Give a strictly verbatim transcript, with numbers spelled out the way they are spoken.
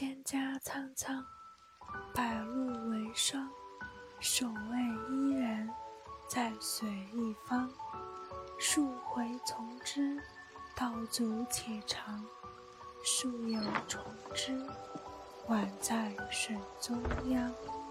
蒹葭苍苍，白露为霜。手未依然，在水一方。数回从之，道阻且长。树有虫之，宛在水中央。